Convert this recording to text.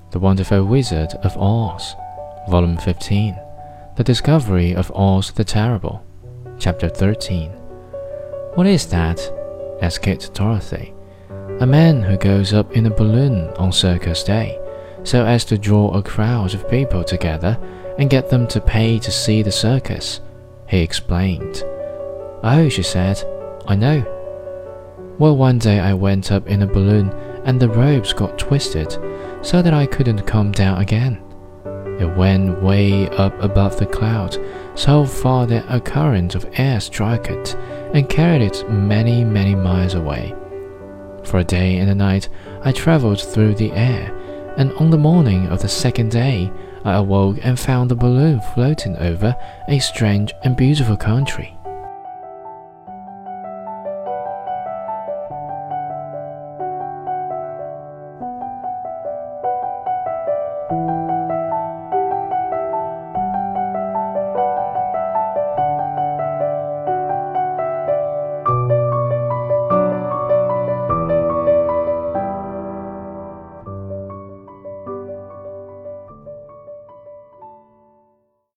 The Wonderful Wizard of Oz, Volume 15, The Discovery of Oz the Terrible, Chapter 13. "What is that?" asked Dorothy. "A man who goes up in a balloon on circus day, so as to draw a crowd of people together and get them to pay to see the circus," he explained. "Oh," she said, "I know. Well, one day I went up in a balloon and the ropes got twisted so that I couldn't come down again. It went way up above the cloud, so far that a current of air struck it and carried it many, many miles away. For a day and a night I traveled through the air, and on the morning of the second day I awoke and found the balloon floating over a strange and beautiful country.